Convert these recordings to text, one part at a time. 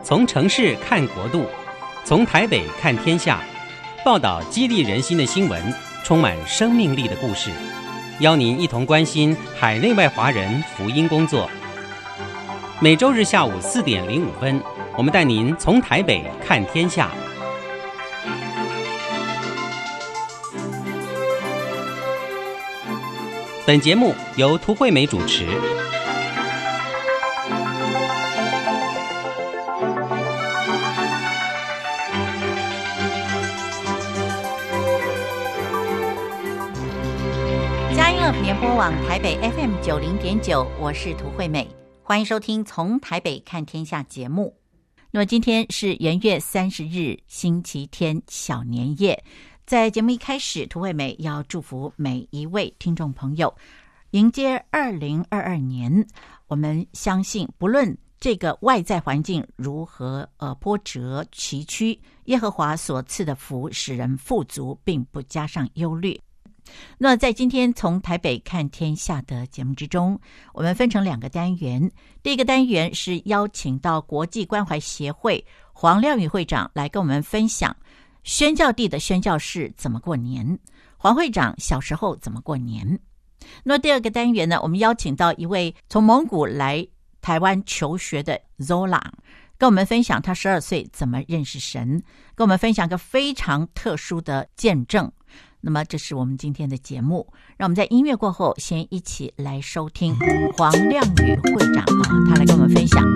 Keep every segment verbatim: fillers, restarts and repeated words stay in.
從城市看國度，從台北看天下，報道激勵人心的新聞，充滿生命力的故事，邀您一同關心海內外華人福音工作。每週日下午四點零五分，我們帶您從台北看天下。本節目由涂惠美主持。 佳音樂聯播網台北 F M 九零點九，我是涂惠美，歡迎收聽《從台北看天下》節目。那麼今天是元月三十日，星期天，小年夜。在節目一開始，涂惠美要祝福每一位聽眾朋友迎接二零二二年。我們相信，不論這個外在環境如何呃波折崎嶇，耶和華所賜的福使人富足，並不加上憂慮。那在今天從台北看天下的節目之中，我們分成兩個單元。第一個單元是邀請到國際關懷協會黃亮宇會長來跟我們分享宣教地的宣教士怎麼過年，黃會長小時候怎麼過年。那第二個單元呢，我們邀請到一位從蒙古來台灣求學的 Zola， 跟我們分享他十二歲怎麼認識神，跟我們分享一個非常特殊的見證。那麼這是我們今天的節目，讓我們在音樂過後先一起來收聽黃亮宇會長啊，他來跟我們分享。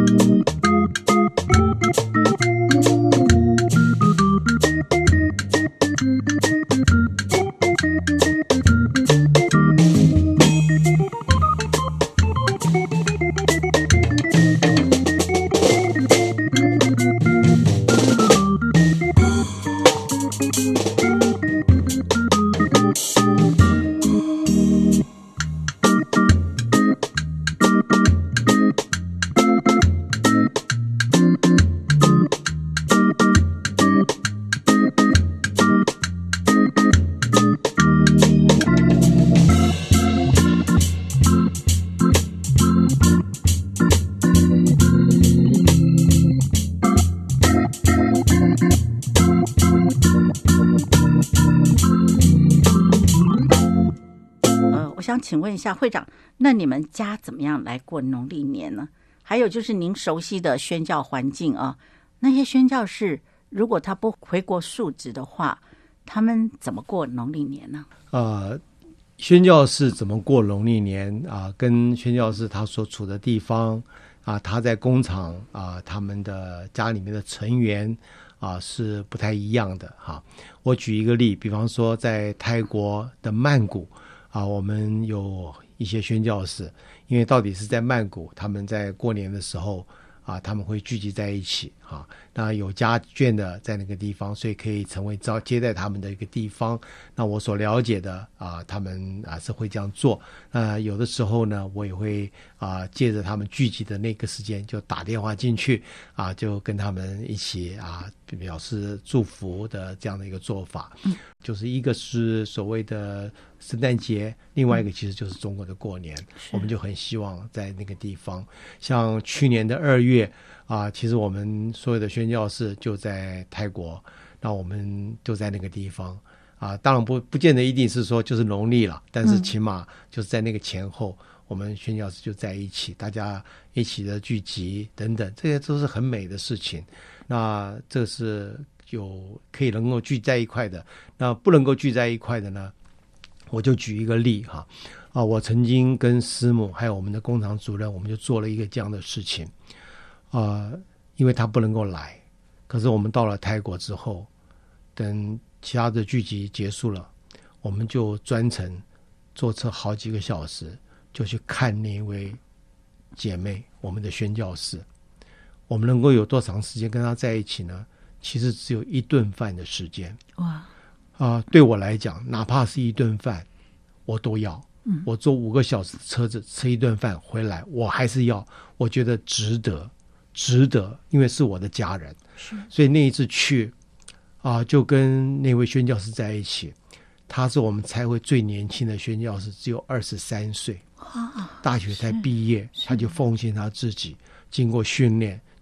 請問一下會長，那你們家怎麼樣來過農曆年呢？還有就是您熟悉的宣教環境啊，那些宣教士如果他不回國述職的話，他們怎麼過農曆年呢？呃， 宣教士怎麼過農曆年啊？跟宣教士他所處的地方啊，他在工廠啊，他們的家裡面的成員啊是不太一樣的哈、啊。我舉一個例，比方說在泰國的曼谷。啊，我們有一些宣教士，因為到底是在曼谷，他們在過年的時候啊，他們會聚集在一起啊。那有家眷的在那個地方，所以可以成為招接待他們的一個地方。那我所了解的啊，他們啊是會這樣做。那有的時候呢，我也會啊借着他們聚集的那個時間，就打電話進去啊，就跟他們一起啊表示祝福的這樣的一個做法。嗯，就是一個是所謂的聖誕節，另外一個其實就是中國的過年。嗯，我們就很希望在那個地方，像去年的二月啊，其實我們所有的宣教士就在泰國，那我們就在那個地方啊。當然不不見得一定是說就是農曆了，但是起碼就是在那個前後，嗯，我們宣教士就在一起，大家一起的聚集等等，這些都是很美的事情。那這是有可以能夠聚在一塊的，那不能夠聚在一塊的呢，我就舉一個例哈啊，我曾經跟師母還有我們的工廠主任，我們就做了一個這樣的事情啊，因為他不能夠來，可是我們到了泰國之後，等其他的聚集結束了，我們就專程坐車好幾個小時，就去看那位姐妹，我們的宣教士。我們能夠有多長時間跟她在一起呢？其實只有一頓飯的時間。哇！啊、呃，對我來講，哪怕是一頓飯，我都要。嗯，我坐五個小時的車子吃一頓飯回來，我還是要。我覺得值得，值得，因為是我的家人。是，所以那一次去啊、呃，就跟那位宣教士在一起。他是我們差會最年輕的宣教士，只有二十三歲，大學才畢業，他就奉獻他自己，經過訓練，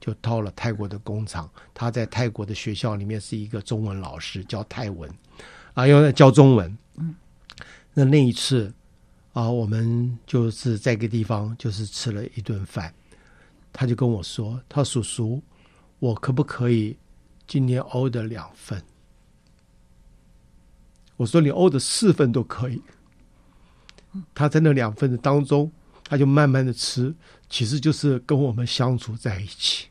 就到了泰國的工廠。他在泰國的學校裡面是一個中文老師，教泰文啊，要教中文。嗯，那那一次啊，我們就是在一個地方就是吃了一頓飯，他就跟我說：“他說叔叔，我可不可以今天 order 兩份？”我說：“你 order 四份都可以。”他在那兩份的當中，他就慢慢的吃，其實就是跟我們相處在一起。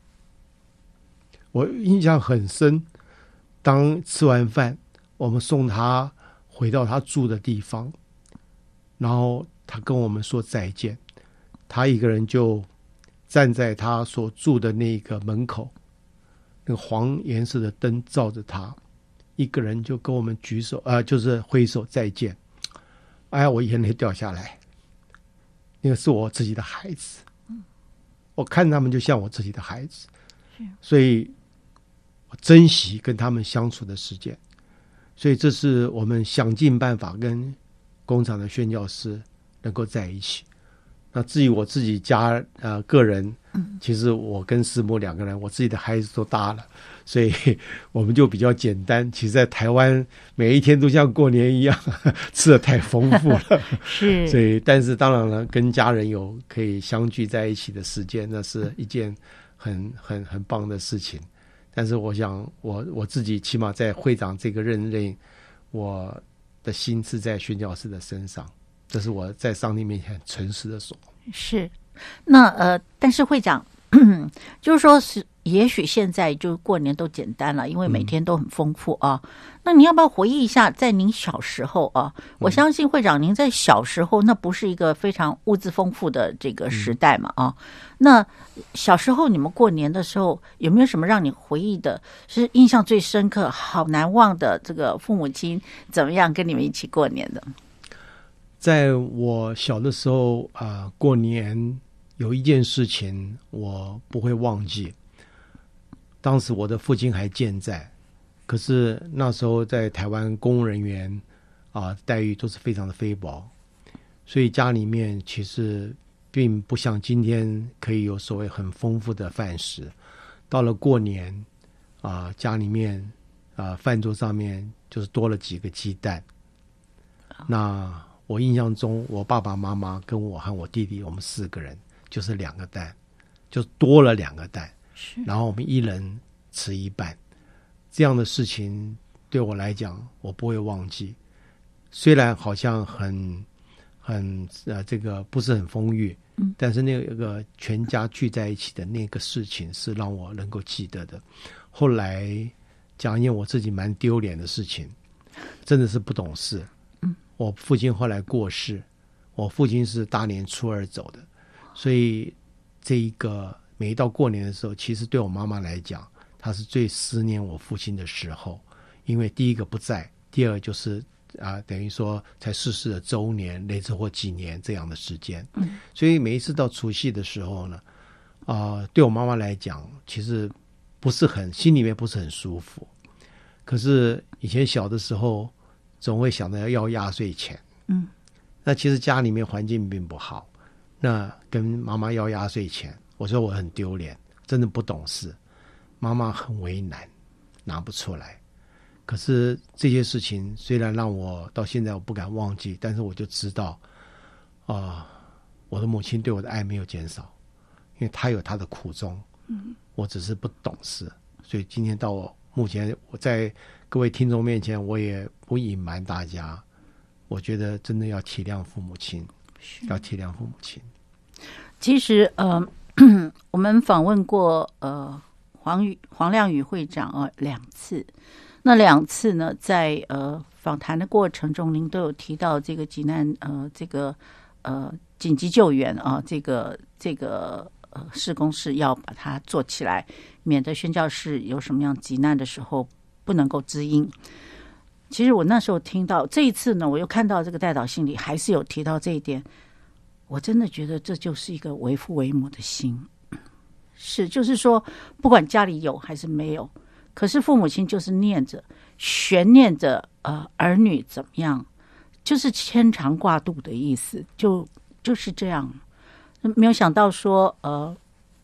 我印象很深，當吃完飯，我們送他回到他住的地方，然後他跟我們說再見，他一個人就站在他所住的那個門口，那個黃顏色的燈照着他，一個人就跟我們舉手，呃，就是揮手再見。哎呀，我眼淚掉下來，那個是我自己的孩子，我看他們就像我自己的孩子，所以我珍惜跟他們相處的時間，所以這是我們想盡辦法跟工廠的宣教師能夠在一起。那至於我自己家呃個人，其實我跟師母兩個人，我自己的孩子都大了，所以我們就比較簡單。其實，在台灣每一天都像過年一樣，吃得太豐富了。是，所以但是當然了，跟家人有可以相聚在一起的時間，那是一件很很很棒的事情。但是我想我，我我自己起碼在會長這個任內，我的心是在宣教士的身上。這是我在上帝面前很誠實的說。 是，那呃，但是會長，就是說是，也許現在就過年都簡單了，因為每天都很豐富啊。嗯、那你要不要回憶一下，在您小時候啊？我相信會長您在小時候，那不是一個非常物質豐富的這個時代嘛啊。嗯、那小時候你們過年的時候，有沒有什麼讓你回憶的，是印象最深刻、好難忘的這個父母親怎麼樣跟你們一起過年的？ 在我小的時候啊、呃，過年有一件事情我不會忘記。當時我的父親還健在，可是那時候在台灣公務人員啊、呃、待遇都是非常的非薄，所以家裡面其實並不像今天可以有所謂很豐富的飯食。到了過年啊、呃，家裡面啊、呃、飯桌上面就是多了幾個雞蛋，那我印象中，我爸爸媽媽跟我和我弟弟，我們四個人就是兩個蛋，就多了兩個蛋，然後我們一人吃一半。這樣的事情對我來講，我不會忘記。雖然好像很很呃，這個不是很豐裕，嗯，但是那個全家聚在一起的那個事情是讓我能夠記得的。後來講一件我自己蠻丟臉的事情，真的是不懂事。我父親後來過世，我父親是大年初二走的，所以這一個每一到過年的時候，其實對我媽媽來講，她是最思念我父親的時候，因為第一個不在，第二就是啊、呃，等於說才逝世的周年，類似或幾年這樣的時間，嗯，所以每一次到除夕的時候呢，啊、呃，對我媽媽來講，其實不是很心裡面不是很舒服，可是以前小的時候。總會想着要壓歲錢，嗯，那其實家裡面環境並不好，那跟媽媽要壓歲錢，我說我很丟臉，真的不懂事，媽媽很為難，拿不出來。可是這些事情雖然讓我到現在我不敢忘記，但是我就知道，啊、呃，我的母親對我的愛沒有減少，因為她有她的苦衷，嗯，我只是不懂事，所以今天到我目前我在各位聽眾面前，我也不隱瞞大家，我覺得真的要體諒父母親，要體諒父母親。 其實，呃，我們訪問過呃黃宇黃亮宇會長啊、呃、兩次，那兩次呢，在呃訪談的過程中，您都有提到這個急難呃這個呃緊急救援啊、呃，這個這個呃事工是要把它做起來，免得宣教士有什麼樣急難的時候不能夠知音。其實我那時候聽到這一次呢，我又看到這個代禱信裡還是有提到這一點，我真的覺得這就是一個為父為母的心，是就是說不管家裡有還是沒有，可是父母親就是念着懸念着呃兒女怎麼樣，就是牽腸掛肚的意思，就就是這樣。沒有想到說呃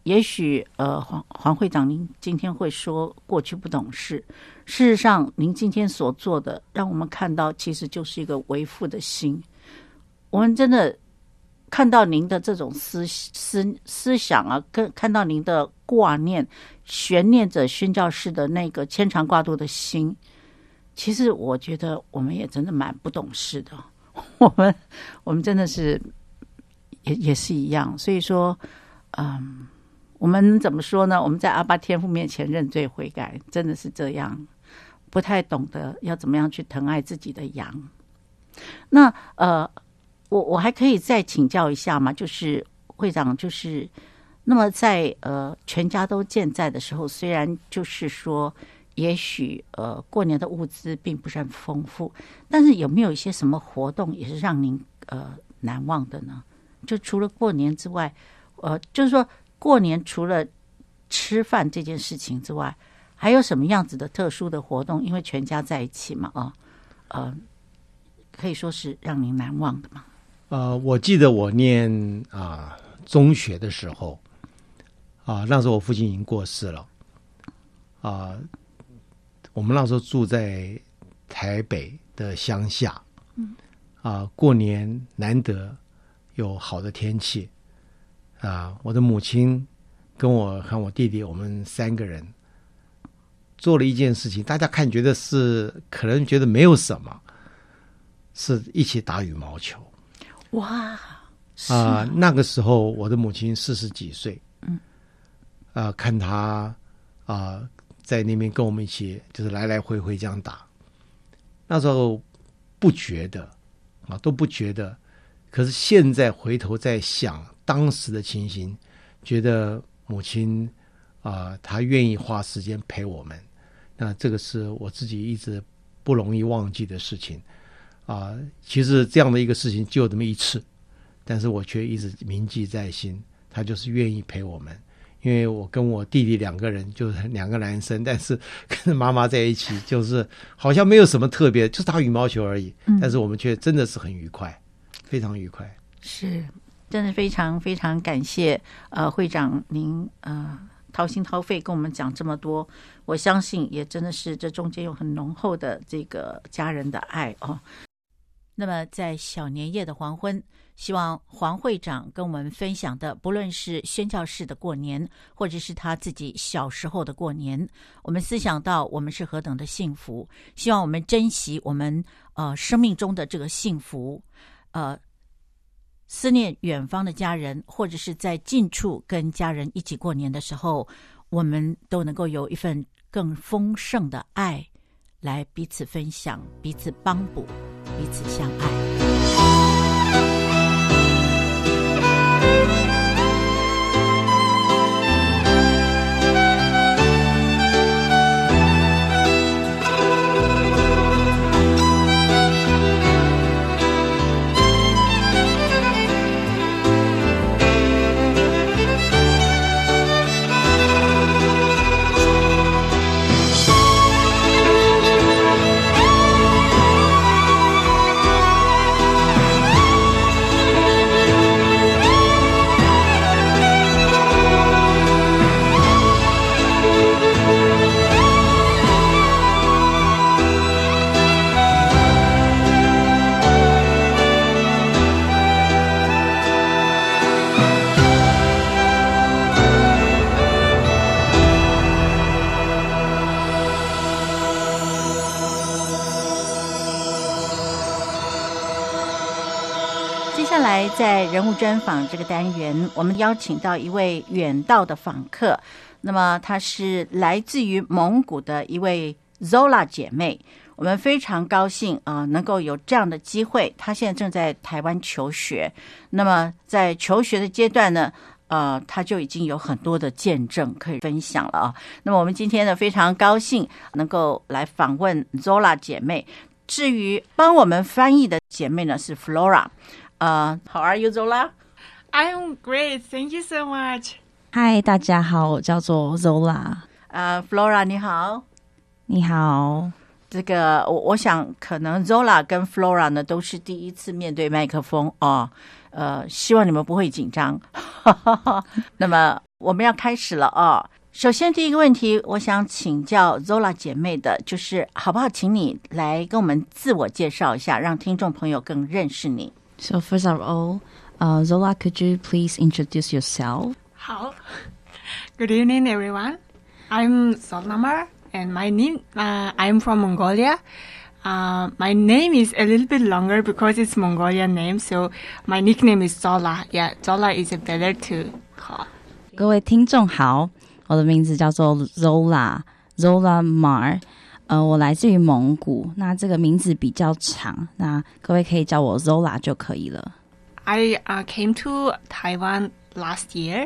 也許呃黃黃會長您今天會說過去不懂事，事實上您今天所做的讓我們看到其實就是一個為父的心。我們真的看到您的這種思思思想啊，跟看到您的掛念懸念着宣教士的那個牽腸掛肚的心，其實我覺得我們也真的蠻不懂事的，我們我們真的是也也是一樣。所以說嗯，我們怎麼說呢？我們在阿爸天父面前認罪悔改，真的是這樣，不太懂得要怎麼樣去疼愛自己的羊。那呃我我還可以再請教一下嗎？就是會長，就是那麼在呃全家都健在的時候，雖然就是說也許呃過年的物資並不是很豐富，但是有沒有一些什麼活動也是讓您呃難忘的呢？就除了過年之外，呃就是說過年除了吃飯這件事情之外，還有什麼樣子的特殊的活動？因為全家在一起嘛，啊呃可以說是讓您難忘的嗎？ 呃，我記得我念啊、呃、中學的時候，啊、呃、那時候我父親已經過世了，啊、呃，我們那時候住在台北的鄉下，嗯，啊、呃、過年難得有好的天氣，啊、呃，我的母親跟我和我弟弟，我們三個人做了一件事情，大家看覺得是可能覺得沒有什麼，是一起打羽毛球。 哇啊、呃，那個時候我的母親四十幾歲，嗯，啊、呃，看她啊、呃、在那邊跟我們一起就是來來回回這樣打，那時候不覺得啊，都不覺得，可是現在回頭再想當時的情形，覺得母親啊、呃，她願意花時間陪我們，那這個是我自己一直不容易忘記的事情。啊，其實這樣的一個事情就這麼一次，但是我卻一直銘記在心。他就是願意陪我們，因為我跟我弟弟兩個人就是兩個男生，但是跟媽媽在一起就是好像沒有什麼特別，就是打羽毛球而已。嗯、但是我們卻真的是很愉快，非常愉快。 是，真的非常非常感謝呃會長您呃掏心掏肺跟我們講這麼多，我相信也真的是這中間有很濃厚的這個家人的愛哦。那麼在小年夜的黃昏，希望黃會長跟我們分享的，不論是宣教士的過年，或者是他自己小時候的過年，我們思想到我們是何等的幸福，希望我們珍惜我們呃生命中的這個幸福，呃思念遠方的家人，或者是在近處跟家人一起過年的時候，我們都能夠有一份更豐盛的愛，來彼此分享，彼此幫補，彼此相愛。在人物專訪這個單元，我們邀請到一位遠道的訪客，那麼她是來自於蒙古的一位 Zola 姐妹，我們非常高興啊、呃，能夠有這樣的機會。她現在正在台灣求學，那麼在求學的階段呢，呃，她就已經有很多的見證可以分享了啊。那麼我們今天呢，非常高興能夠來訪問 Zola 姐妹。至於幫我們翻譯的姐妹呢，是 Flora。Uh, how are you, Zola? I'm great. Thank you so much. Hi, 大家好，我叫做 Zola。 呃、uh, ，Flora 你好， 你好。 這個我我想可能 Zola 跟 Flora 呢都是第一次面對麥克風哦。呃，希望你們不會緊張。 那麼我們要開始了哦。首先第一個問題，我想請教 Zola 姐妹的，就是好不好請你來跟我們自我介紹一下，讓聽眾朋友更認識你。 So first of all, uh, Zola, could you please introduce yourself? 好 Good evening, everyone. I'm Zola, and my name, uh, I'm from Mongolia. Uh, my name is a little bit longer because it's Mongolian name, so my nickname is Zola. Yeah, Zola is better to call. 各位听众好，我的名字叫做 Zola Zola Mar， 呃，我來自於蒙古。那這個名字比較長，那各位可以叫我 Zola 就可以了。 I uh, came to Taiwan last year,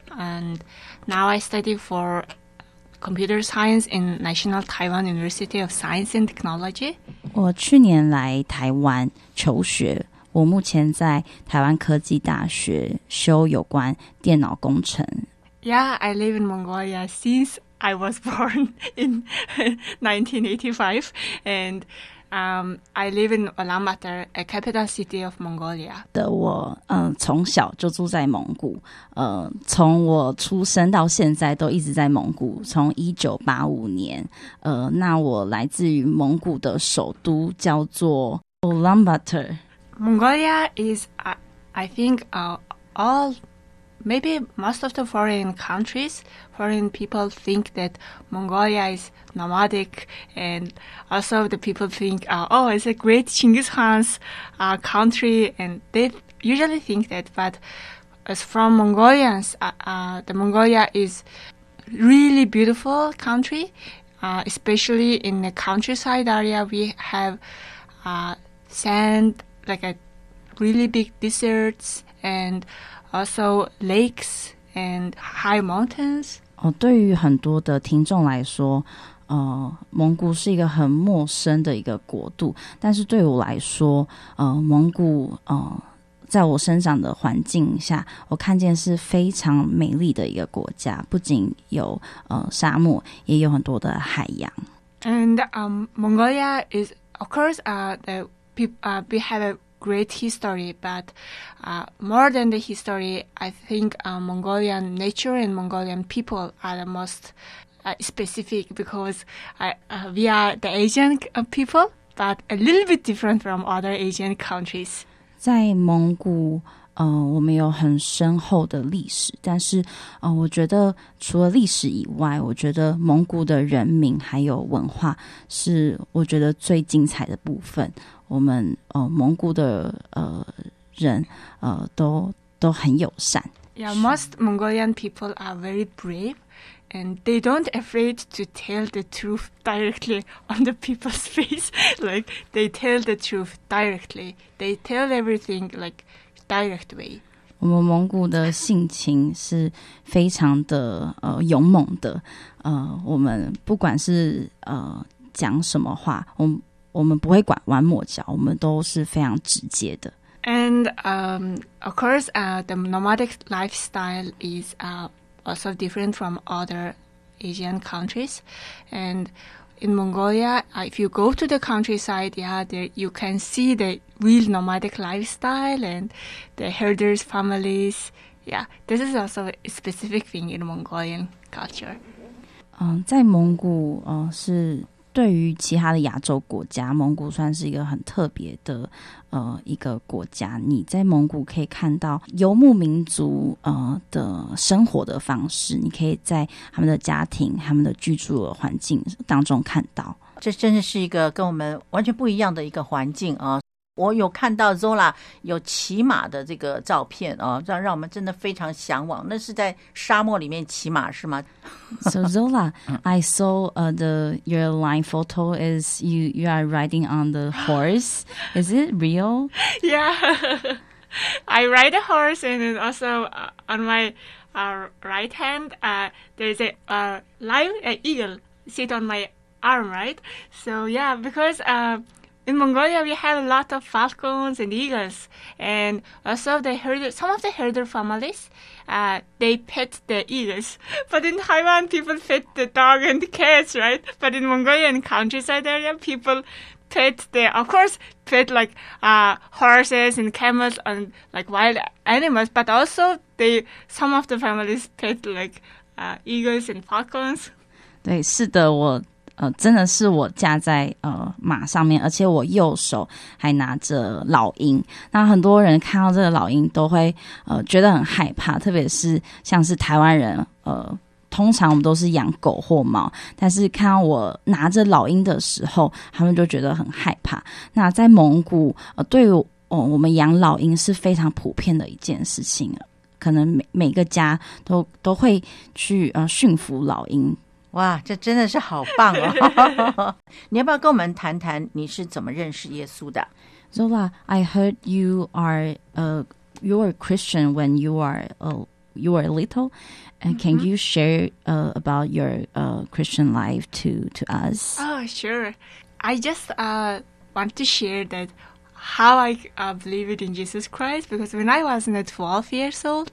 and now I study for computer science in National Taiwan University of Science and Technology. 我去年來台灣求學，我目前在台灣科技大學修有關電腦工程。 Yeah, I live in Mongolia since I was born in nineteen eighty-five, and um, I live in Ulaanbaatar, a capital city of Mongolia. 的我，嗯、呃，從小就住在蒙古，呃，從我出生到現在都一直在蒙古，從一九八五年，呃，那我來自於蒙古的首都叫做 Ulaanbaatar. Mongolia is, uh, I think, uh, all, maybe most of the foreign countries, foreign people think that Mongolia is nomadic, and also the people think, uh, oh, it's a great Genghis Khan's uh, country, and they usually think that, but as from Mongolians, uh, uh, the Mongolia is really beautiful country, uh, especially in the countryside area. We have uh, sand, like a really big deserts, and also lakes and high mountains. 哦，对於很多的聽眾來說，呃，蒙古是一個很陌生的一個國度，但是對我來說，呃，蒙古呃，在我生長的環境下，我看見是非常美麗的一個國家，不僅有呃沙漠，也有很多的海洋。 And um, Mongolia is, of course, uh, the uh, we have a great history, but uh, more than the history, I think uh, Mongolian nature and Mongolian people are the most uh, specific, because uh, uh, we are the Asian people, but a little bit different from other Asian countries. 在蒙古，呃，我們有很深厚的歷史，但是，呃，我覺得除了歷史以外，我覺得蒙古的人民還有文化是我覺得最精彩的部分。我們呃蒙古的呃人呃都都很友善。 Yeah, most Mongolian people are very brave, and they don't afraid to tell the truth directly on the people's face. Like they tell the truth directly. They tell everything like direct way. 我們蒙古的性情是非常的呃勇猛的。呃，我們不管是呃講什麼話，我們我們不會拐彎抹角，我們都是非常直接的。 And um, of course, uh, the nomadic lifestyle is uh, also different from other Asian countries. And in Mongolia, uh, if you go to the countryside, yeah, there you can see the real nomadic lifestyle and the herders' families. Yeah, this is also a specific thing in Mongolian culture. 嗯，在蒙古，呃，是对於其他的亞洲國家，蒙古算是一個很特別的呃一個國家。你在蒙古可以看到游牧民族呃的生活的方式，你可以在他們的家庭、他們的居住的環境當中看到。 這真的是一個跟我們完全不一樣的一個環境啊！我有看到 Zola 有騎馬的這個照片啊，讓讓我們真的非常向往。那是在沙漠裡面騎馬是嗎？ So Zola, I saw uh, the your line photo is you you are riding on the horse. Is it real? Yeah, I ride a horse, and then also uh, on my uh, right hand uh, there's a uh, live uh, eagle sit on my arm, right? So yeah, because uh, in Mongolia we have a lot of falcons and eagles, and also the herder, some of the herder families, uh, they pet the eagles. But in Taiwan, people pet the dog and the cats, right? But in Mongolian countryside area, people pet the, of course, pet like uh, horses and camels and like wild animals, but also they some of the families pet like uh, eagles and falcons. 对，是的，我呃真的是我驾在呃馬上面，而且我右手還拿着老鷹。那很多人看到這個老鷹都會呃覺得很害怕，特別是像是台灣人呃。通常我們都是養狗或貓，但是看到我拿着老鷹的時候，他們就覺得很害怕。那在蒙古，呃，對於、哦、我們養老鷹是非常普遍的一件事情，可能每每個家都都會去呃馴服老鷹。 哇，這真的是好棒哦！你要不要跟我們談談你是怎麼認識耶穌的？ Zola, I heard you are uh you were a Christian when you are uh, you were little. And can you share uh, about your uh, Christian life to, to us? Oh, sure. I just uh, want to share that how I uh, believed in Jesus Christ, because when I was twelve years old,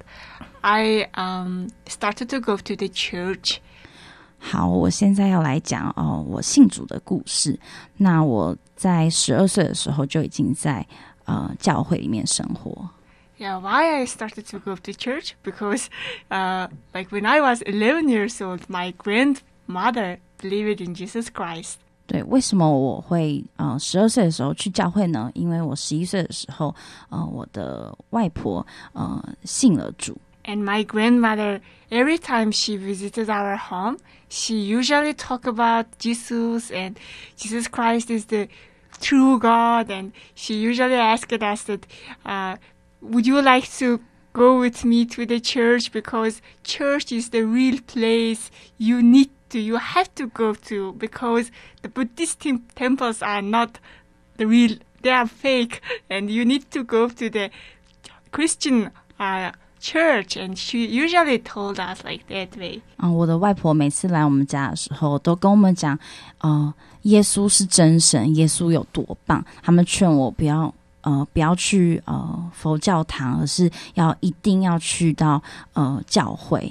I um, started to go to the church. 好，我現在要來講哦，我信主的故事。那我在十二歲的時候就已經在呃教會裡面生活。 Yeah, why I started to go to church? Because, uh, like when I was eleven years old, my grandmother believed in Jesus Christ. 对，为什麼我會呃十二歲的時候去教會呢？因為我十一歲的時候，呃，我的外婆呃信了主。 And my grandmother, every time she visited our home, she usually talk about Jesus and Jesus Christ is the true God. And she usually asked us that, uh, would you like to go with me to the church? Because church is the real place you need to, you have to go to, because the Buddhist tem- temples are not the real, they are fake. And you need to go to the Christian uh, church. And she usually told us like that way. 啊、呃，我的外婆每次來我們家的時候，都跟我們講，呃，耶穌是真神，耶穌有多棒。他們勸我不要。呃，不要去呃佛教堂，而是要一定要去到呃教會。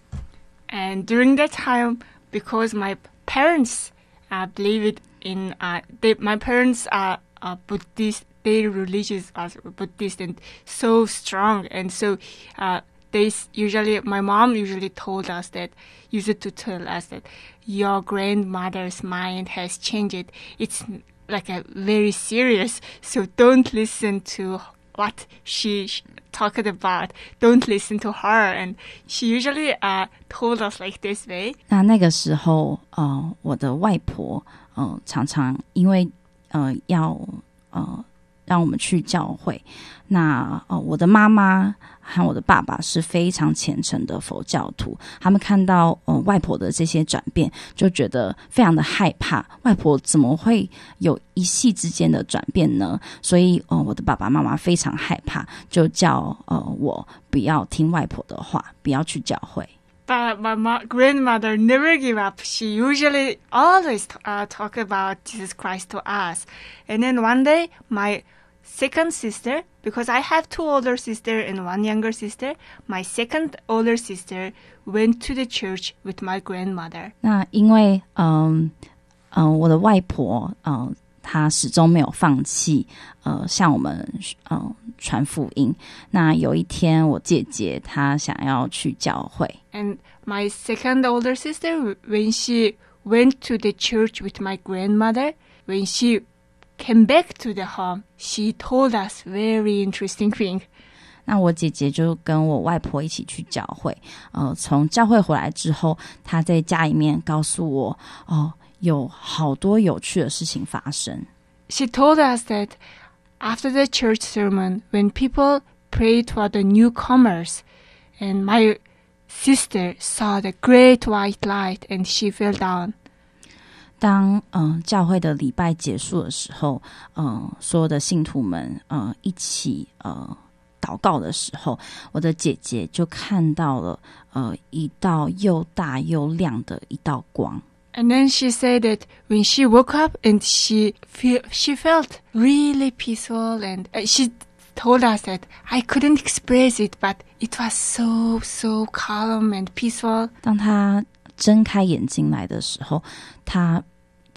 And during that time, because my parents uh, believed in, uh, they, my parents are uh, Buddhist, their religious are Buddhist and so strong, and so uh, they usually, my mom usually told us that, used to tell us that your grandmother's mind has changed. It's like a very serious, so don't listen to what she talked about. Don't listen to her. And she usually uh, told us like this way. 那那個時候，呃，我的外婆，呃，常常因為呃要呃讓我們去教會，那呃我的媽媽和我的爸爸是非常虔誠的佛教徒，他們看到呃外婆的這些轉變，就覺得非常的害怕，外婆怎麼會有一夕之間的轉變呢？所以呃我的爸爸媽媽非常害怕，就叫呃我不要聽外婆的話，不要去教會。 But my ma- grandmother never gave up. She usually always uh, talk about Jesus Christ to us. And then one day, my second sister, because I have two older sisters and one younger sister, my second older sister went to the church with my grandmother. 那因為嗯嗯、呃呃、我的外婆呃她始終沒有放棄呃向我們呃傳福音。那有一天我姐姐她想要去教會。 And my second older sister, when she went to the church with my grandmother, when she came back to the home, she told us very interesting thing. 那我姐姐就跟我外婆一起去教會，呃，從教會回來之後，她在家裡面告訴我，哦，有好多有趣的事情發生。 She told us that after the church sermon, when people prayed for the newcomers, and my sister saw the great white light, and she fell down. 當嗯、呃、教會的禮拜結束的時候，嗯、呃，所有的信徒們呃一起呃禱告的時候，我的姐姐就看到了呃一道又大又亮的一道光。 And then she said that when she woke up and she feel, she felt really peaceful, and uh, she told us that I couldn't express it, but it was so so calm and peaceful. 當她睜開眼睛來的時候，她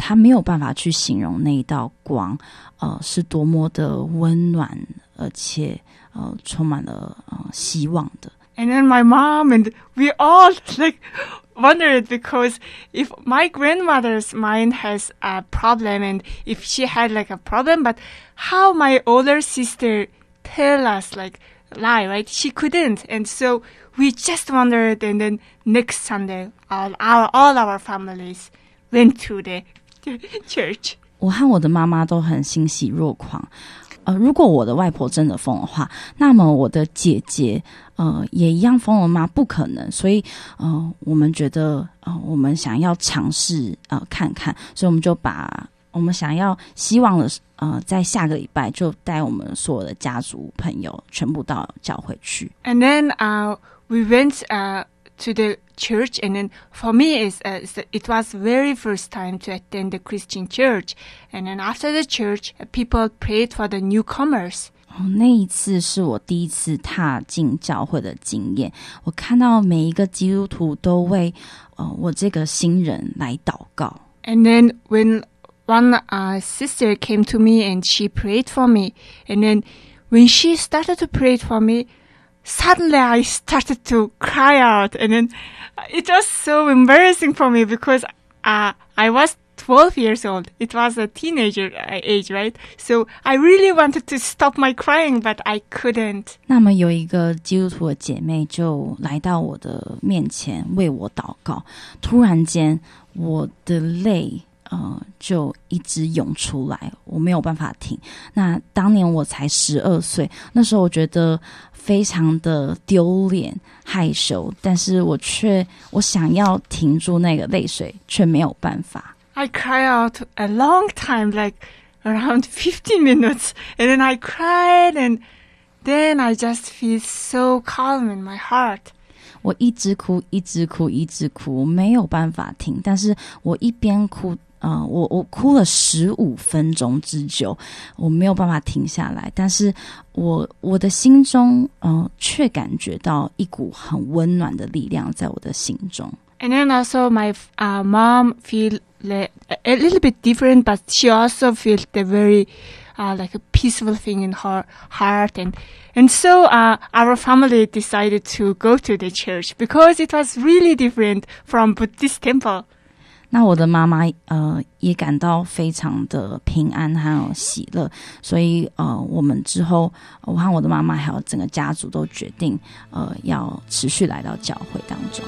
他沒有辦法去形容那一道光，呃，是多麼的溫暖，而且呃，充滿了呃希望的。 And then my mom and we all like wondered, because if my grandmother's mind has a problem and if she had like a problem, but how my older sister tell us like lie, right? She couldn't. And so we just wondered, and then next Sunday, all our, all our families went to the church. 我和我的媽媽都很欣喜若狂。呃，如果我的外婆真的瘋的話，那麼我的姐姐呃也一樣瘋了嗎？不可能。所以呃，我們覺得呃，我們想要嘗試呃看看，所以我們就把我們想要希望的呃，在下個禮拜就帶我們所有的家族朋友全部到教會去。 And then uh, we went uh, to the church, and then for me is uh, it was very first time to attend the Christian church, and then after the church people prayed for the newcomers. 哦，那一次是我第一次踏進教會的經驗，我看到每一個基督徒都為呃我這個新人來禱告。 And then when one uh, sister came to me and she prayed for me, and then when she started to pray for me, suddenly I started to cry out, and then it was so embarrassing for me because uh, I was twelve years old. It was a teenager age, right? So I really wanted to stop my crying, but I couldn't. 那麼有一個基督徒的姐妹就來到我的面前為我禱告，突然間我的淚呃就一直湧出來，我沒有辦法停。那當年我才十二歲，那時候我覺得非常的丟臉害羞，但是我卻我想要停住那個淚水，卻沒有辦法。 I cry out a long time, like around fifteen minutes, and then I cried, and then I just feel so calm in my heart. 我一直哭，一直哭，一直哭，沒有辦法停。但是我一邊哭，呃，我我哭了十五分鐘之久，我沒有辦法停下來。但是我我的心中，呃，卻感覺到一股很溫暖的力量在我的心中。 And then also my uh, mom feel like a little bit different, but she also felt the very uh, like a peaceful thing in her heart, and and so uh, our family decided to go to the church because it was really different from Buddhist temple. 那我的媽媽呃也感到非常的平安還有喜樂，所以呃我們之後我和我的媽媽還有整個家族都決定呃要持續來到教會當中。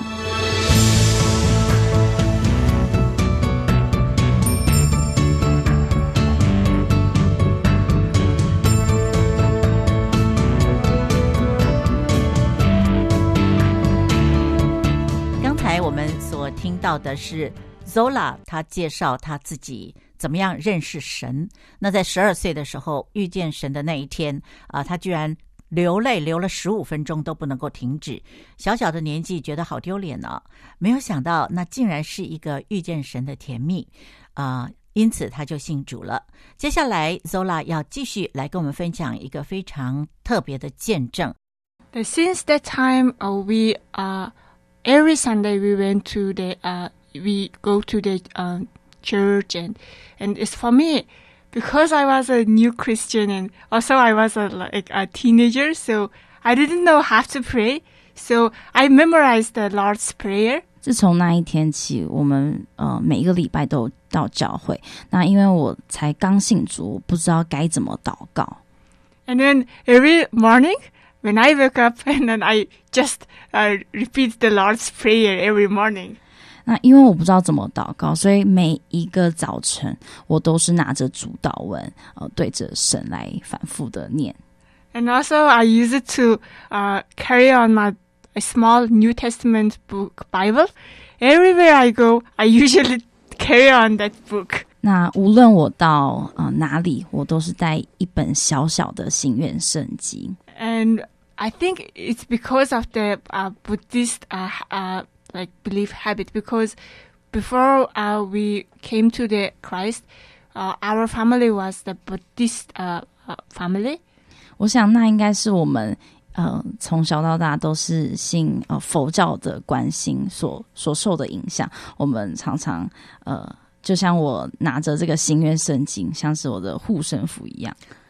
剛才我們所聽到的是Zola 他介紹他自己怎麼樣認識神。那在十二歲的時候遇見神的那一天啊、呃，他居然流淚流了十五分鐘都不能夠停止。小小的年紀覺得好丟臉呢、哦，沒有想到那竟然是一個遇見神的甜蜜啊、呃，因此他就信主了。接下來 Zola 要繼續來跟我們分享一個非常特別的見證。 Since that time, uh, we uh, every Sunday we went to the uh, we go to the uh, church, and and it's for me because I was a new Christian, and also I was a, like a teenager, so I didn't know how to pray, so I memorized the Lord's Prayer. 自從那一天起，我們呃每一個禮拜都到教會。那因為我才剛信主，我不知道該怎麼禱告。 And then every morning when I wake up, and then I just uh, repeat the Lord's Prayer every morning. 那因為我不知道怎麼禱告，所以每一個早晨我都是拿着主禱文，呃，對着神來反覆的念。 And also I use it to uh, carry on my a small New Testament book Bible. Everywhere I go, I usually carry on that book. 那無論我到呃哪裡，我都是帶一本小小的心願聖經。 And I think it's because of the uh, Buddhist uh, uh, like belief habit, because before uh, we came to the Christ, uh, our family was the Buddhist uh, uh, family. 我想那應該是我們呃從小到大都是信呃佛教的觀心所所受的影響，我們常常呃就像我拿着這個新約聖經，像是我的護身符一樣。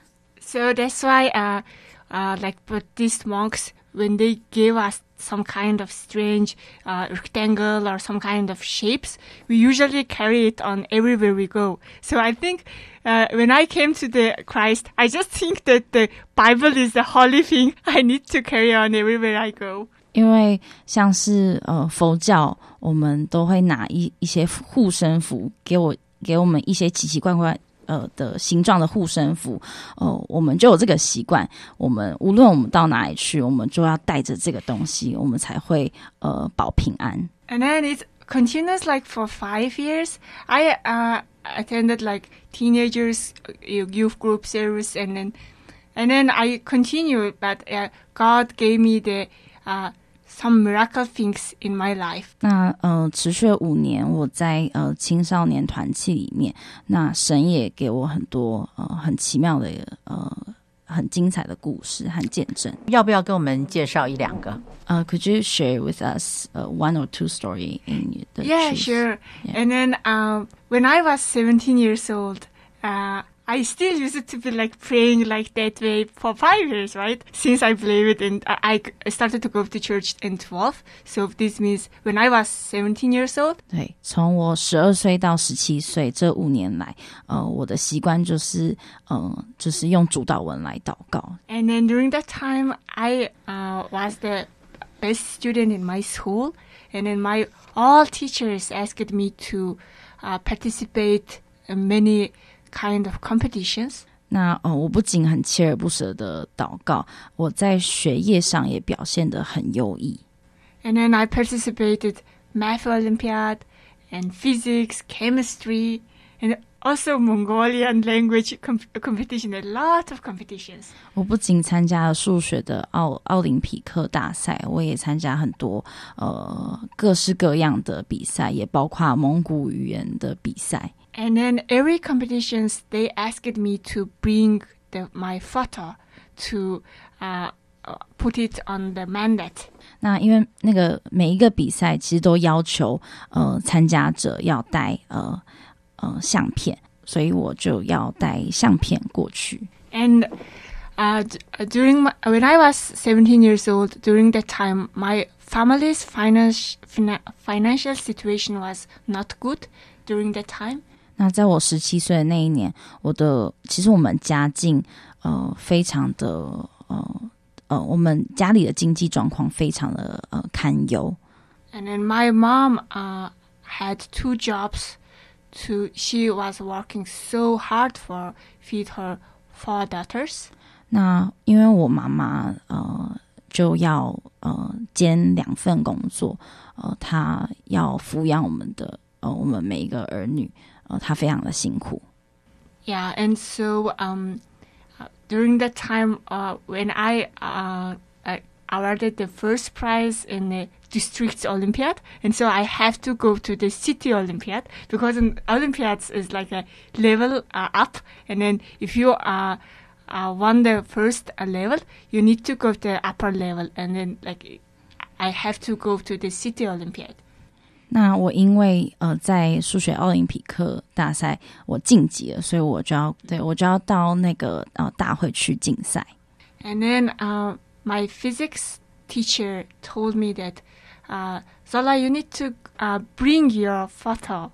So that's why, uh, uh, like Buddhist monks, when they give us some kind of strange uh, rectangle or some kind of shapes, we usually carry it on everywhere we go. So I think uh, when I came to the Christ, I just think that the Bible is the holy thing I need to carry on everywhere I go. 因為像是呃佛教，我們都會拿一一些護身符，給我給我們一些奇奇怪怪呃的形狀的護身符，呃，我們就有這個習慣。我們無論我們到哪裡去，我們就要帶着這個東西，我們才會呃保平安。 And then it continues like for five years. I uh, attended like teenagers youth group service, and then and then I continued, but uh, God gave me the uh, some miracle things in my life. 那呃，持續了五年，我在呃青少年團契裡面，那神也給我很多呃很奇妙的呃很精彩的故事和見證。 要不要跟我們介紹一兩個？ Uh, could you share with us uh, one or two story in the Yeah, truth? sure. Yeah. And then um, when I was seventeen years old, uh, I still used to be like praying like that way for five years, right? Since I believed, and I, I started to go to church in twelve. So this means when I was seventeen years old. 对，從我十二歲到十七歲這五年來，呃，我的習慣就是呃，就是用主禱文來禱告。 And then during that time, I uh, was the best student in my school, and then my all teachers asked me to uh, participate in many kind of competitions. 那呃，我不僅很鍥而不捨的禱告，我在學業上也表現得很優異。 And then I participated math Olympiad and physics, chemistry, and also Mongolian language comp- competition, a lot of competitions. 我不僅參加了數學的奧奧林匹克大賽，我也參加很多呃各式各樣的比賽，也包括蒙古語言的比賽。 And then every competitions, they asked me to bring the, my photo to uh, put it on the mandate. 那因為那個每一個比賽其實都要求呃參加者要帶呃呃相片，所以我就要帶相片過去。 And uh, during my, when I was seventeen years old, during that time, my family's finance, fina, financial situation was not good during that time. 那在我十七歲的那一年，我的其實我們家境呃非常的呃呃，我們家裡的經濟狀況非常的呃堪憂。 And then my mom uh, had two jobs. To she was working so hard for feed her four daughters. 那因為我媽媽呃就要呃兼兩份工作，呃，她要撫養我們的呃我們每一個兒女。呃，他非常的辛苦。 Yeah, and so um, uh, during that time, uh, when I uh, I awarded the first prize in the district Olympiad, and so I have to go to the city Olympiad because in Olympiads is like a level uh, up, and then if you uh, uh, won the first uh, level, you need to go to the upper level, and then like I have to go to the city Olympiad. 那我因為呃在數學奧林匹克大賽我晉級了，所以我就要對我就要到那個呃大會去競賽。 And then uh, my physics teacher told me that uh, Zola, you need to uh, bring your photo,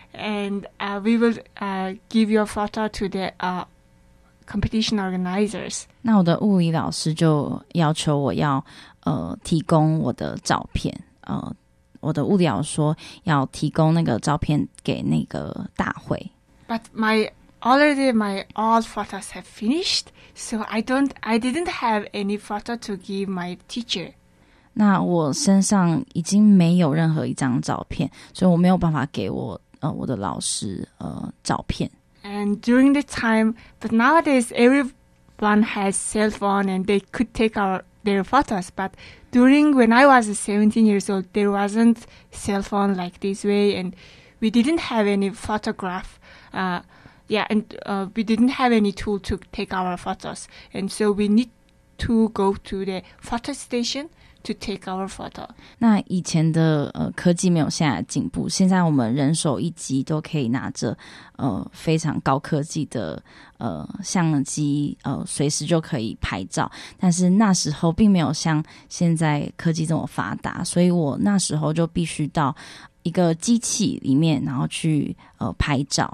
and uh, we will uh, give your photo to the uh, competition organizers. 那我的物理老師就要求我要呃提供我的照片呃。我的物理老師說要提供那個照片給那個大會。 But my already my all photos have finished, so I don't I didn't have any photo to give my teacher. 那我身上已經沒有任何一張照片，所以我沒有辦法給我呃我的老師呃照片。 And during the time, but nowadays everyone has cell phone and they could take our their photos, but during when I was seventeen years old, there wasn't cell phone like this way, and we didn't have any photograph. Uh, yeah, and uh, we didn't have any tool to take our photos, and so we need to go to the photo station to take our photo. 那以前的呃科技沒有現在的進步，現在我們人手一機都可以拿着呃非常高科技的呃相機，呃隨時就可以拍照。但是那時候並沒有像現在科技這麼發達，所以我那時候就必須到一個機器裡面，然後去呃拍照。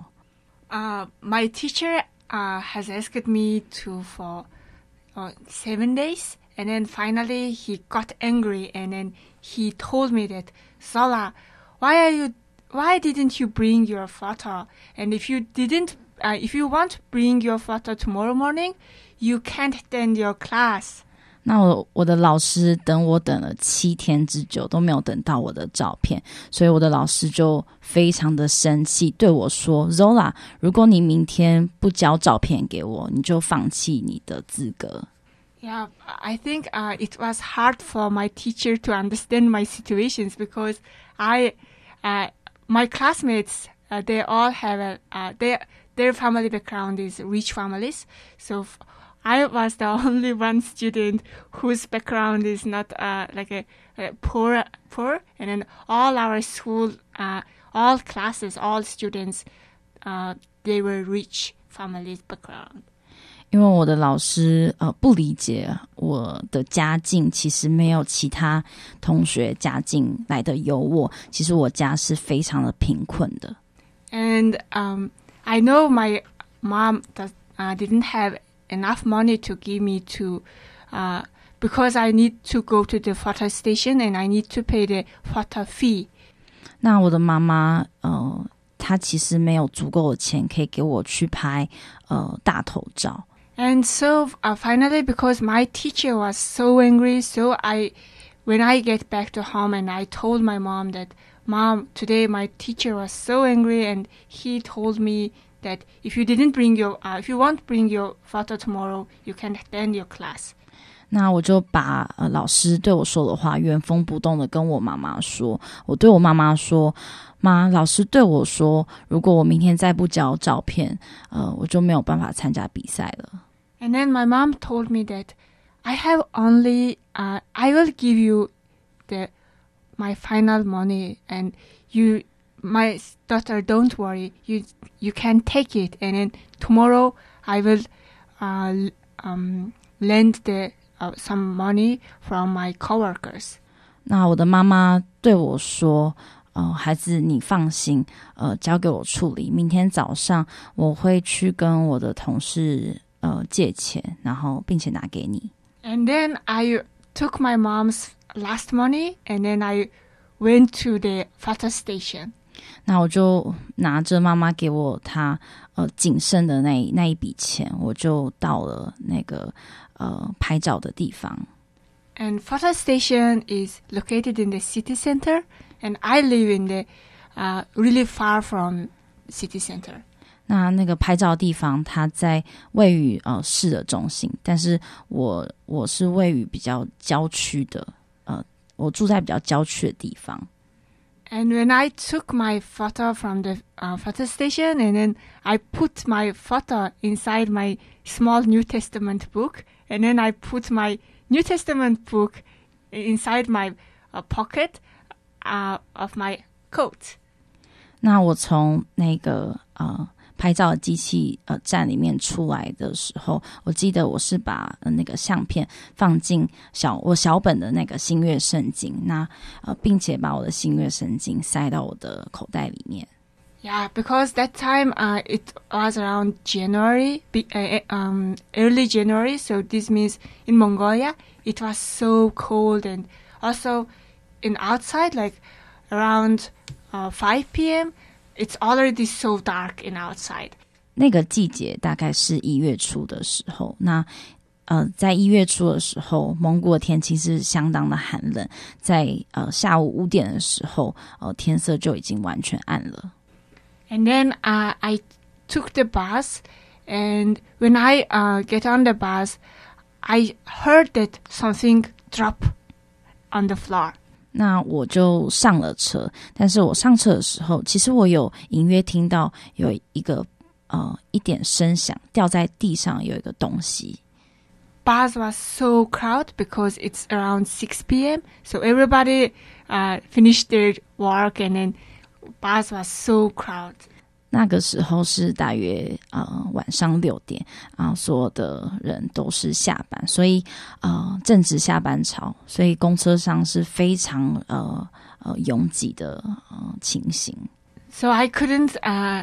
Uh, my teacher uh, has asked me to for uh, seven days, and then finally he got angry, and then he told me that, Zola, why are you, why didn't you bring your photo? And if you didn't, uh, if you want to bring your photo tomorrow morning, you can't attend your class. 那我我的老師等我等了七天之久都沒有等到我的照片，所以我的老師就非常的生氣，對我說 Zola， 如果你明天不交照片給我，你就放棄你的資格。 Yeah, I think uh, it was hard for my teacher to understand my situations because I, uh, my classmates, uh, they all have a, uh, their their family background is rich families, so I was the only one student whose background is not uh, like a, a poor, poor, and then all our school, uh, all classes, all students, uh, they were rich families background. 因為我的老師呃不理解我的家境，其實沒有其他同學家境來的優渥，其實我家是非常的貧困的。 And um, I know my mom does, uh, didn't have enough money to give me to, uh, because I need to go to the photo station and I need to pay the photo fee. 那我的媽媽，呃，她其實沒有足夠的錢可以給我去拍，呃，大頭照。 And so uh, finally, because my teacher was so angry, so I, when I get back to home and I told my mom that, Mom, today my teacher was so angry and he told me that if you didn't bring your, uh, if you won't bring your photo tomorrow, you can attend your class. 那我就把呃老師對我說的話原封不動的跟我媽媽說。我對我媽媽說，媽，老師對我說，如果我明天再不交照片，呃，我就沒有辦法參加比賽了。 And then my mom told me that I have only, uh, I will give you the my final money, and you. My daughter, don't worry. You you can take it, and then tomorrow I will uh, um, lend the uh, some money from my coworkers. 那我的媽媽對我說：“呃，孩子，你放心，呃，交給我處理。明天早上我會去跟我的同事呃借錢，然後並且拿給你。” And then I took my mom's last money, and then I went to the photo station. 那我就拿着媽媽給我她呃僅剩的那那一筆錢，我就到了那個呃拍照的地方。 And photo station is located in the city center, and I live in the uh, really far from city center. 那那個拍照的地方，它在位於呃市的中心，但是我我是位於比較郊區的，呃，我住在比較郊區的地方。 And when I took my photo from the uh, photo station, and then I put my photo inside my small New Testament book, and then I put my New Testament book inside my uh, pocket uh, of my coat. 那我從那個呃拍照的機器呃站裡面出來的時候，我記得我是把、呃、那個相片放進小我小本的那個新約聖經，那呃並且把我的新約聖經塞到我的口袋裡面。 Yeah, because that time uh, it was around January, uh, um, early January. So this means in Mongolia it was so cold, and also in outside like around uh, five p.m. It's already so dark in outside. 那個季節大概是一月初的時候，那呃，在一月初的時候，蒙古的天氣是相當的寒冷，在呃下午五點的時候，呃天色就已經完全暗了。 And then uh, I took the bus, and when I uh, get on the bus, I heard that something drop on the floor. 那我就上了車，但是我上車的時候，其實我有隱約聽到有一個呃一點聲響，掉在地上有一個東西。 bus was so crowded because it's around six p.m. So everybody uh, finished their work and then bus was so crowded. 那個時候是大約呃晚上六點啊、呃，所有的人都是下班，所以呃正值下班潮，所以公車上是非常呃呃擁擠的呃情形。 So I couldn't uh,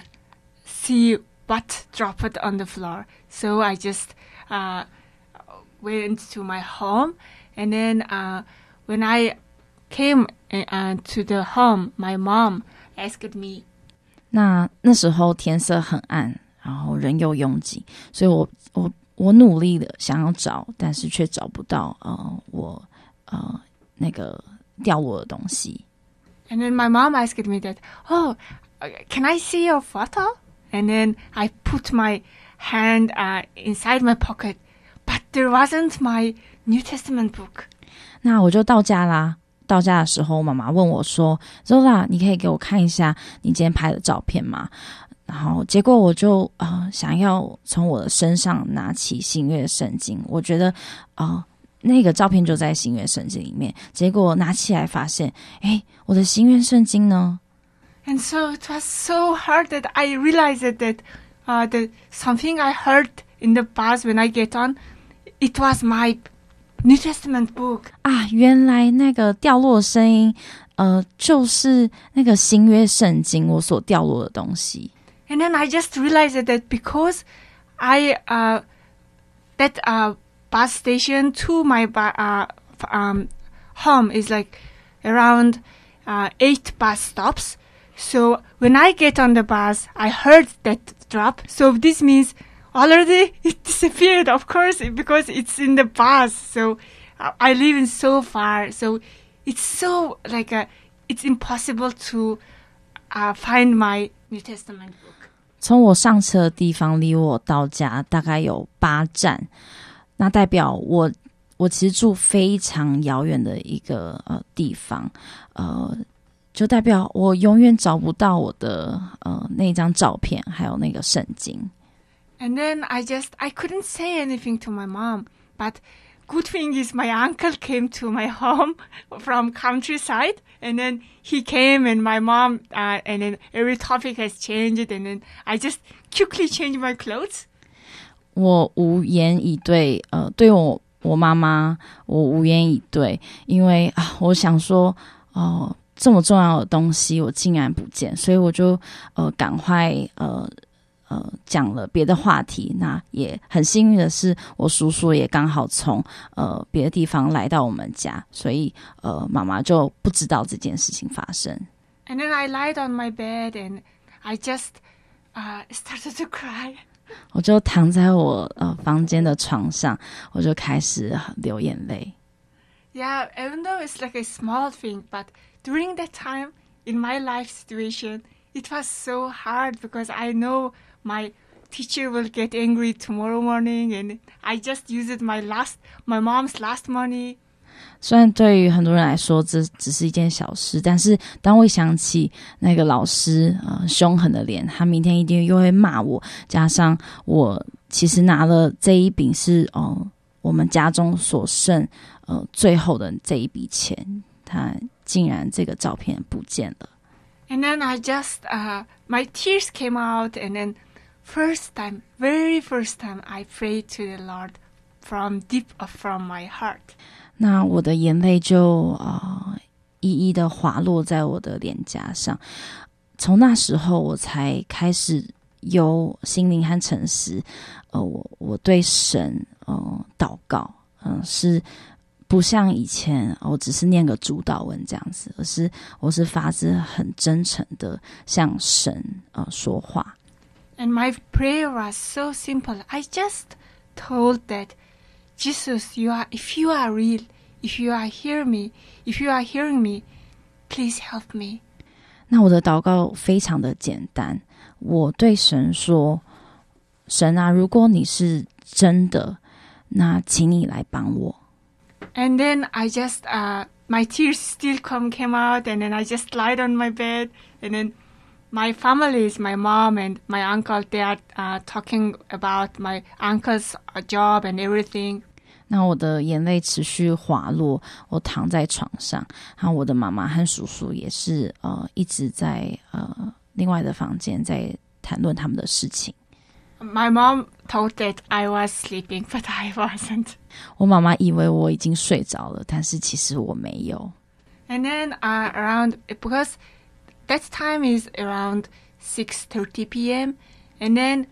see what dropped on the floor. So I just uh, went to my home, and then uh, when I came uh, to the home, my mom asked me. 那那時候天色很暗，然後人又擁擠，所以我我我努力的想要找，但是卻找不到呃我呃那個掉落的東西。 And then my mom asked me that, oh, can I see your photo? And then I put my hand uh, inside my pocket, but there wasn't my New Testament book. 那我就到家啦。到家的時候，媽媽問我說 ：“Zola， 你可以給我看一下你今天拍的照片嗎？”然後結果我就呃想要從我的身上拿起新約聖經，我覺得呃那個照片就在新約聖經裡面。結果拿起來發現，誒，我的新約聖經呢？ And so it was so hard that I realized that uh, the something I heard in the bus when I get on, it was my New Testament book. 啊，原來那個掉落的聲音，呃，就是那個新約聖經我所掉落的東西。 And then I just realized that because I uh that uh bus station to my uh um home is like around uh eight bus stops. So when I get on the bus, I heard that drop. So this means already it disappeared, of course, because it's in the bus. So uh, I live in so far. So it's so like a, it's impossible to uh, find my New Testament book. 從我上車的地方離我到家大概有八站，那代表我我其實住非常遙遠的一個呃地方，呃。就代表我永遠找不到我的呃那張照片，還有那個聖經。 And then I just I couldn't say anything to my mom, but good thing is my uncle came to my home from countryside, and then he came and my mom uh, and then every topic has changed, and then I just quickly changed my clothes. 我無言以對，呃，對我我媽媽，我無言以對，因為啊，我想說哦。呃這麼重要的東西我竟然不見，所以我就呃趕快呃呃講了別的話題。那也很幸運的是，我叔叔也剛好從呃別的地方來到我們家，所以呃媽媽就不知道這件事情發生。 And then I lied on my bed and I just uh, started to cry. 我就躺在我呃房間的床上，我就開始流眼淚。 Yeah, even though it's like a small thing, but during that time in my life situation, it was so hard because I know my teacher will get angry tomorrow morning, and I just used my last, my mom's last money. 雖然對於很多人來說這只是一件小事，但是當我想起那個老師呃兇狠的臉，他明天一定又會罵我，加上我其實拿了這一筆是哦、呃、我們家中所剩呃最後的這一筆錢，他竟然這個照片不見了。 And then I just uh, my tears came out, and then first time, very first time, I prayed to the Lord from deep from my heart. 那我的眼淚就呃一一的滑落在我的臉頰上，從那時候我才開始有心靈和誠實，呃，我我對神呃禱告，嗯、呃，是不像以前我只是念個主禱文這樣子，而是我是發自很真誠的向神呃說話。 And my prayer was so simple. I just told that Jesus, you are, if you are real, if you are hearing me, if you are hearing me, please help me. 那我的禱告非常的簡單，我對神說：神啊，如果你是真的，那請你來幫我。 And then I just, uh, my tears still come came out, and then I just lied on my bed, and then my families, my mom and my uncle, they are uh, talking about my uncle's uh, job and everything. 那我的眼淚持續滑落，我躺在床上，然後我的媽媽和叔叔也是呃一直在呃另外的房間在談論他們的事情。 My mom thought that I was sleeping, but I wasn't. 我媽媽以為我已經睡着了，但是其實我沒有。 And then uh, around, because that time is around six thirty p.m. And then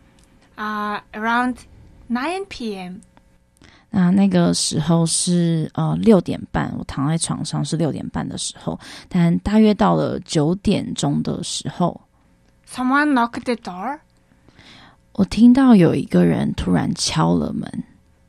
uh, around nine p.m. 那那個時候是呃六點半，我躺在床上是六點半的時候，但大約到了九點鐘的時候 someone knocked the door. 我聽到有一個人突然敲了門。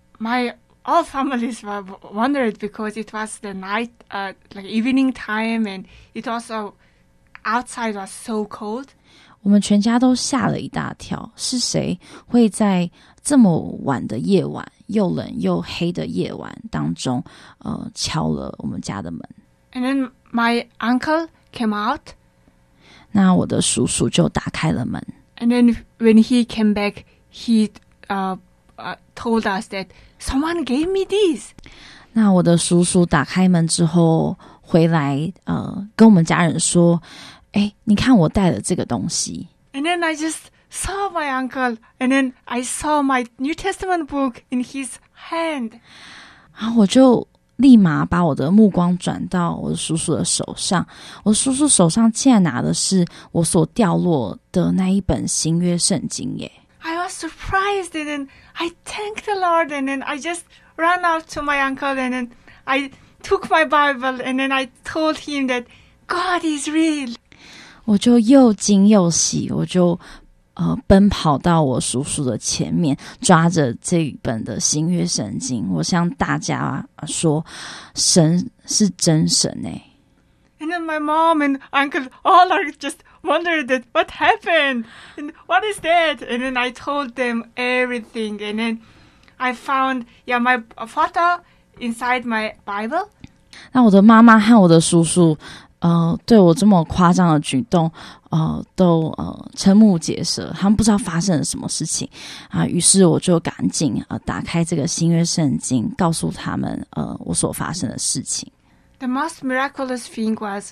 My all families were wondered because it was the night, uh, like evening time, and it also outside was so cold. 我們全家都嚇了一大跳，是誰會在這麼晚的夜晚，又冷又黑的夜晚當中，呃，敲了我們家的門？ And then my uncle came out. 那我的叔叔就打開了門。 And then when he came back, he uh, uh, told us that someone gave me this. 那我的叔叔打開門之後回來，呃，跟我們家人說：“哎，你看我帶了這個東西。” And then I just saw my uncle, and then I saw my New Testament book in his hand. 然後我就立馬把我的目光轉到我的叔叔的手上，我叔叔手上竟然拿的是我所掉落的那一本新約聖經耶。 I was surprised, and then I thanked the Lord, and then I just ran out to my uncle, and then I took my Bible, and then I told him that God is real. 我就又驚又喜，我就呃奔跑到我叔叔的前面，抓着這本的新約聖經，我向大家說：神是真神哎。 And then my mom and uncle all are just wondered that what happened and what is that? And then I told them everything, and then I found yeah my photo inside my Bible. 那我的媽媽和我的叔叔。呃，對我這麼誇張的舉動，呃，都呃瞠目結舌，他們不知道發生了什麼事情啊。於是我就趕緊呃打開這個新約聖經，告訴他們呃我所發生的事情。 The most miraculous thing was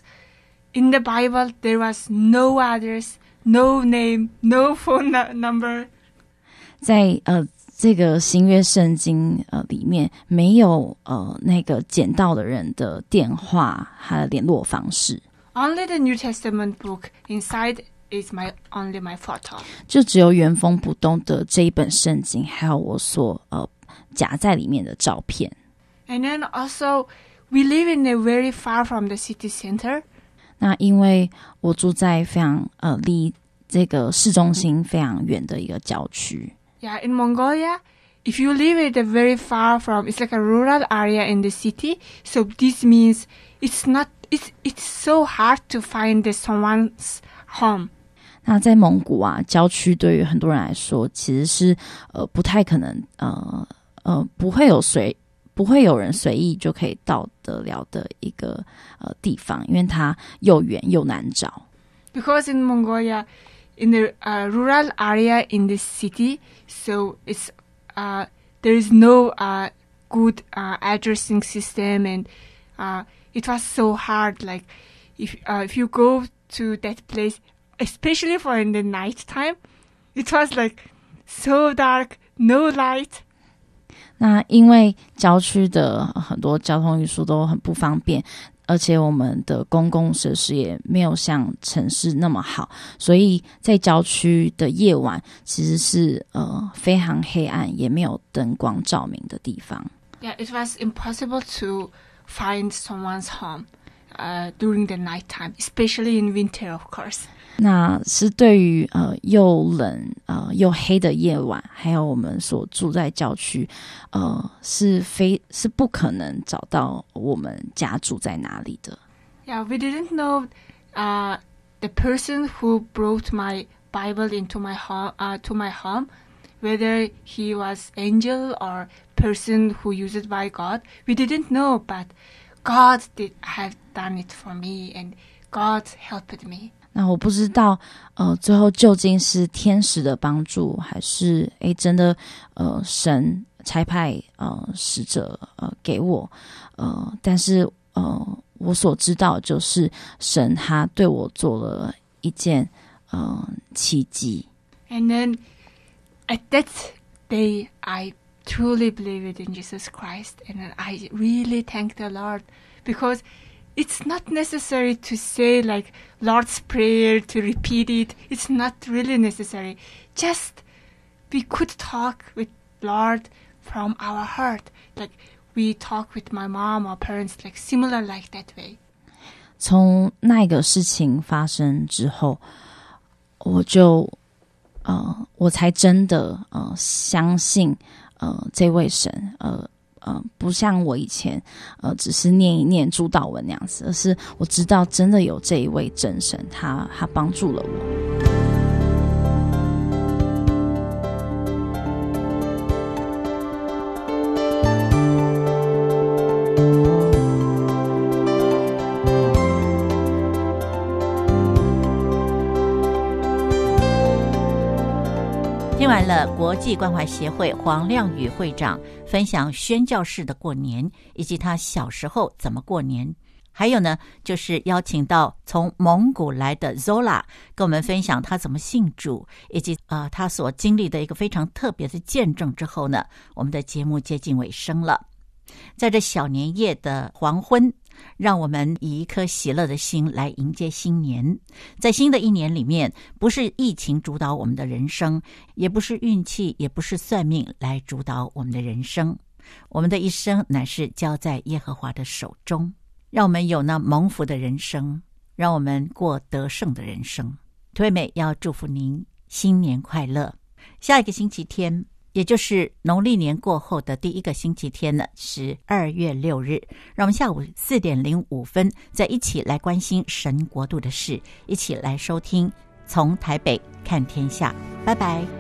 in the Bible there was no address, no name, no phone number. 在呃這個新約聖經呃裡面沒有呃那個撿到的人的電話和聯絡方式。 Only the New Testament book inside is my only my photo. 就只有原封不動的這一本聖經，還有我所呃夾在裡面的照片。 And then also we live in a very far from the city center. 那因為我住在非常呃離這個市中心非常遠的一個郊區。 Yeah, in Mongolia, if you live at a very far from, it's like a rural area in the city. So this means it's not, it's it's so hard to find the someone's home. 那在蒙古啊，郊區對於很多人來說，其實是呃不太可能，呃呃不會有隨不會有人隨意就可以到得了的一個呃地方，因為它又遠又難找。 Because in Mongolia, in the uh, rural area in the city, so it's uh, there is no uh, good uh, addressing system, and uh, it was so hard. Like if uh, if you go to that place, especially for in the night time, it was like so dark, no light. 那因為郊區的很多交通運輸都很不方便。而且我們的公共設施也沒有像城市那麼好，所以在郊區的夜晚其實是呃非常黑暗，也沒有燈光照明的地方。 Yeah, it was impossible to find someone's home uh, during the night time, especially in winter, of course. 那是對於呃又冷呃又黑的夜晚，還有我們所住在郊區，呃是非是不可能找到我們家住在哪裡的。 Yeah, we didn't know uh, the person who brought my Bible into my home, uh, to my home, whether he was angel or person who used by God. We didn't know, but God did have done it for me, and God helped me. 那我不知道，呃，最後究竟是天使的幫助，還是誒真的，呃，神差派呃使者呃給我，呃，但是呃我所知道就是神他對我做了一件呃奇蹟。 And then at that day, I truly believed in Jesus Christ, and then I really thank the Lord, because it's not necessary to say like Lord's Prayer, to repeat it. It's not really necessary. Just we could talk with Lord from our heart, like we talk with my mom or parents, like similar like that way. 從那個事情發生之後，我就呃，我才真的呃相信呃這位神，呃呃不像我以前呃只是念一念主禱文那樣子，而是我知道真的有這一位真神，他他幫助了我。 听完了國際關懷協會黃亮宇會長分享宣教士的過年，以及他小時候怎麼過年，還有呢就是邀請到從蒙古來的 Zola 跟我們分享他怎麼信主，以及呃他所經歷的一個非常特別的見證之後呢，我們的節目接近尾聲了。在這小年夜的黃昏，讓我們以一顆喜樂的心來迎接新年。在新的一年裡面，不是疫情主導我們的人生，也不是運氣，也不是算命來主導我們的人生。我們的一生乃是交在耶和華的手中，讓我們有那蒙福的人生，讓我們過得勝的人生。涂惠美要祝福您新年快樂。下一個星期天，也就是農曆年過後的第一個星期天呢，是二月六日。讓我們下午四點零五分再一起來關心神國度的事，一起來收聽從台北看天下。拜拜。